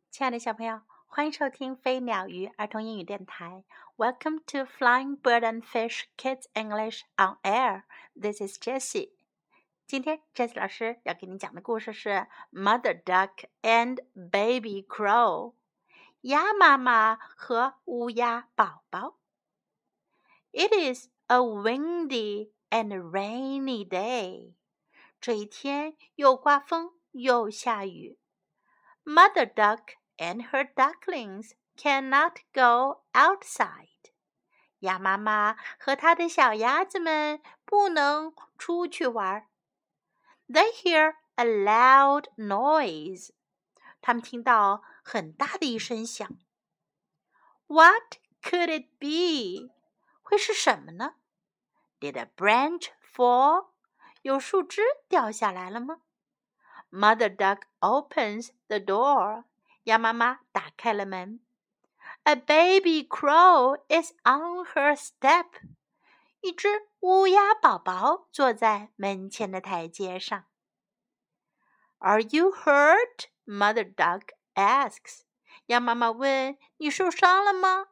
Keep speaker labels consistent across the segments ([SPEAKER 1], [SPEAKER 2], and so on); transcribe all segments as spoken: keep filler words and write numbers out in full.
[SPEAKER 1] 亲爱的小朋友，欢迎收听飞鸟鱼儿童英语电台。Welcome to Flying Bird and Fish Kids English on Air. This is Jessie. 今天 Jessie 老师要给你讲的故事是 Mother Duck and Baby Crow. 鸭妈妈和乌鸦宝宝。It is a windy and rainy day. 这一天又刮风又下雨。Mother Duck and her ducklings cannot go outside. 鸭妈妈和她的小鸭子们不能出去玩。They hear a loud noise. 他们听到很大的一声响。What could it be? 会是什么呢？ Did a branch fall? 有树枝掉下来了吗？ Mother Duck opens the door. 鸭妈妈打开了门。A baby crow is on her step. 一只乌鸦宝宝坐在门前的台阶上。Are you hurt? Mother Duck asks. 鸭妈妈问，你受伤了吗？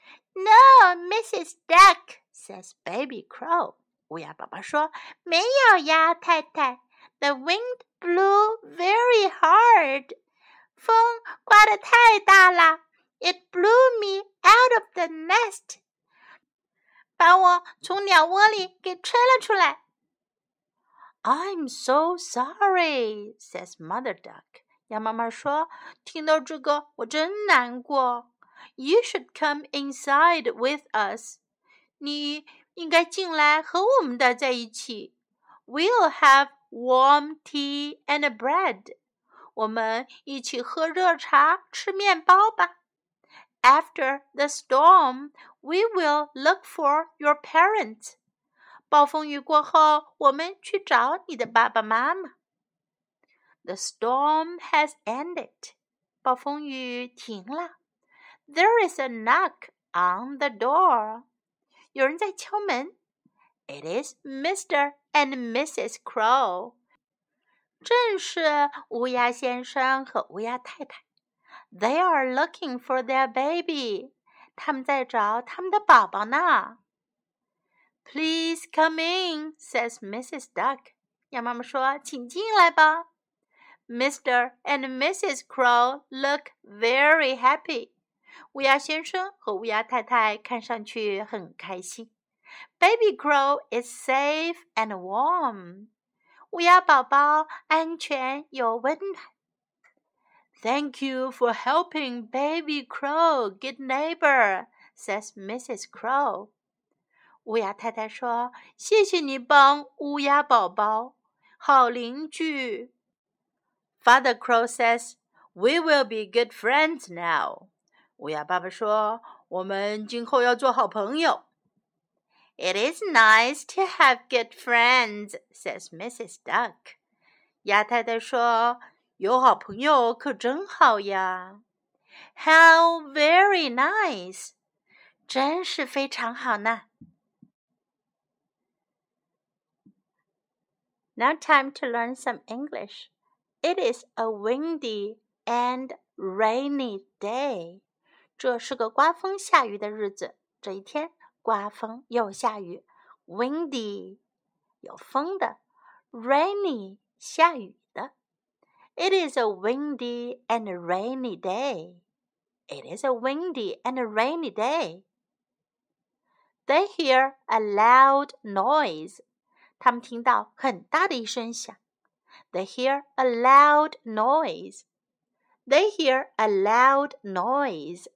[SPEAKER 1] No, Missus Duck, says Baby Crow. 乌鸦宝宝说，没有呀，太太。The wind blew very hard. 风刮得太大了。It blew me out of the nest. 把我从鸟窝里给吹了出来。I'm so sorry, says Mother Duck. 鸭妈妈说，听到这个我真难过。You should come inside with us. 你应该进来和我们待在一起。We'll have warm tea and bread. 我们一起喝热茶，吃面包吧。After the storm, we will look for your parents. 暴风雨过后，我们去找你的爸爸妈妈。The storm has ended. 暴风雨停了。There is a knock on the door. 有人在敲门。It is Mister and Missus Crow. 正是乌鸦先生和乌鸦太太。They are looking for their baby. 他们在找他们的宝宝呢。Please come in, says Missus Duck. 鸭妈妈说，请进来吧。Mister and Missus Crow look very happy. 乌鸦先生和乌鸦太太看上去很开心。Baby Crow is safe and warm. 乌鸦宝宝安全又温暖。Thank you for helping Baby Crow, good neighbor, says Missus Crow. 乌鸦太太说，谢谢你帮乌鸦宝宝，好邻居。Father Crow says, we will be good friends now. 乌鸦爸爸说，我们今后要做好朋友。It is nice to have good friends, says Missus Duck. 鸭太太说，有好朋友可真好呀。How very nice. 真是非常好呢。Now time to learn some English. It is a windy and rainy day. 这是个刮风下雨的日子。这一天刮风又下雨。Windy 有风的。Rainy 下雨的。It is a windy and rainy day. It is a windy and rainy day. They hear a loud noise. 他们听到很大的一声响。They hear a loud noise. They hear a loud noise.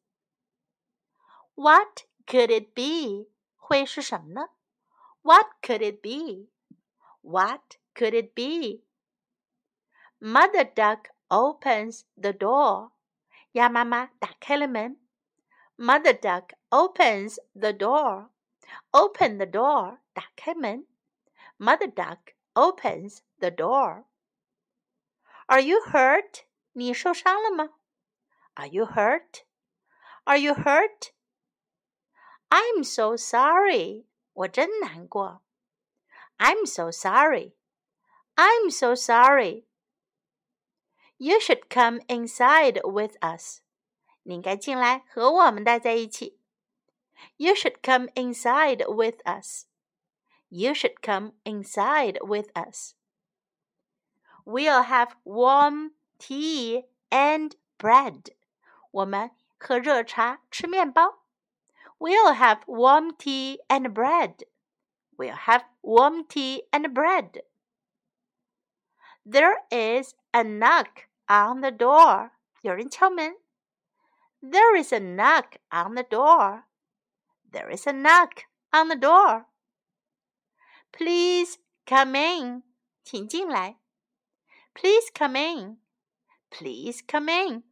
[SPEAKER 1] What could it be? 会是什么呢？ What could it be? What could it be? Mother Duck opens the door. 鸭妈妈打开了门。Mother Duck opens the door. Open the door. 打开门。Mother Duck opens the door. Are you hurt? 你受伤了吗？ Are you hurt? Are you hurt? I'm so sorry. 我真难过。I'm so sorry. I'm so sorry. You should come inside with us. 你应该进来和我们待在一起。You should come inside with us. You should come inside with us. We'll have warm tea and bread. 我们喝热茶，吃面包。We'll have warm tea and bread. We'll have warm tea and bread. There is a knock on the door. 有人敲门。There is a knock on the door. There is a knock on the door. Please come in. 请进来。Please come in. Please come in.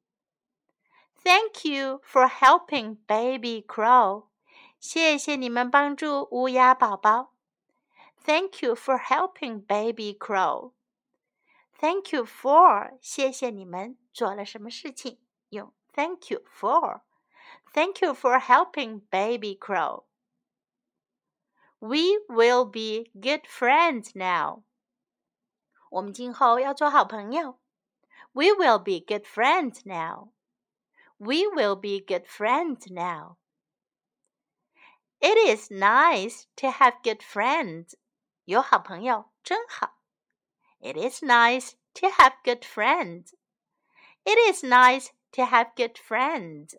[SPEAKER 1] Thank you for helping Baby Crow. 谢谢你们帮助乌鸦宝宝。Thank you for helping Baby Crow. Thank you for. 谢谢你们做了什么事情？用 Thank you for. Thank you for helping Baby Crow. We will be good friends now. 我们今后要做好朋友。We will be good friends now. We will be good friends now. It is nice to have good friends. 有好朋友真好。It is nice to have good friends. It is nice to have good friends.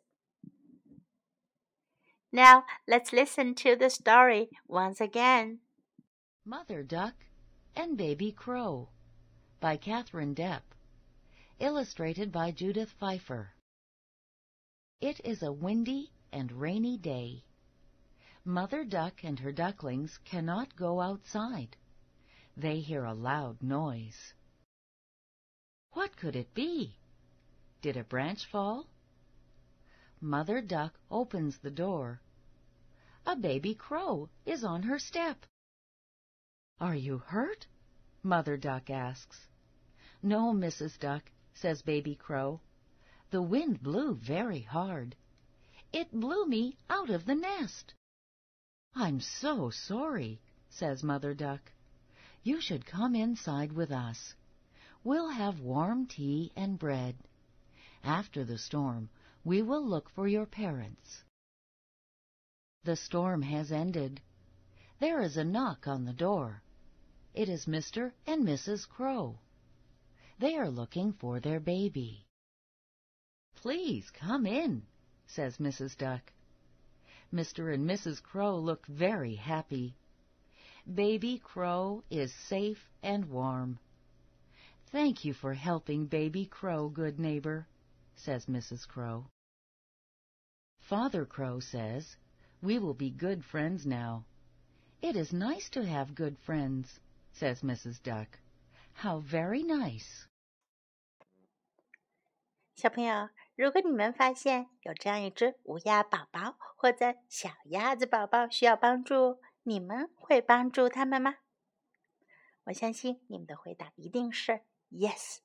[SPEAKER 1] Now, let's listen to the story once again.
[SPEAKER 2] Mother Duck and Baby Crow by Catherine Depp. Illustrated by Judith Pfeiffer. It is a windy and rainy day. Mother Duck and her ducklings cannot go outside. They hear a loud noise. What could it be? Did a branch fall? Mother Duck opens the door. A baby crow is on her step. Are you hurt? Mother Duck asks. No, Missus Duck, says Baby Crow. The wind blew very hard. It blew me out of the nest. I'm so sorry, says Mother Duck. You should come inside with us. We'll have warm tea and bread. After the storm, we will look for your parents. The storm has ended. There is a knock on the door. It is Mister and Missus Crow. They are looking for their baby. Please come in, says Missus Duck. Mister and Missus Crow look very happy. Baby Crow is safe and warm. Thank you for helping Baby Crow, good neighbor, says Missus Crow. Father Crow says, we will be good friends now. It is nice to have good friends, says Missus Duck. How very nice.
[SPEAKER 1] 小朋友，如果你们发现有这样一只乌鸦宝宝或者小鸭子宝宝需要帮助，你们会帮助他们吗？我相信你们的回答一定是 Yes,